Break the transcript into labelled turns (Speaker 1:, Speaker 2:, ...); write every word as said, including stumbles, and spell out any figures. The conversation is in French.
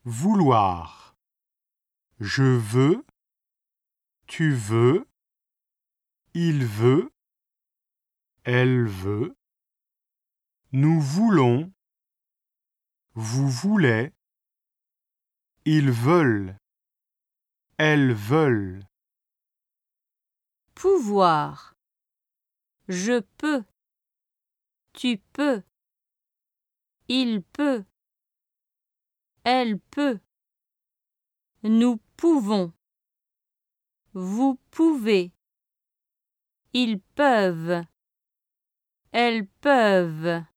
Speaker 1: Vouloir. Je veux, tu veux, il veut, elle veut, nous voulons, vous voulez, ils veulent, elles veulent.
Speaker 2: Pouvoir. Je peux, tu peux, il peut, elle peut, nous pouvons, vous pouvez, ils peuvent, elles peuvent.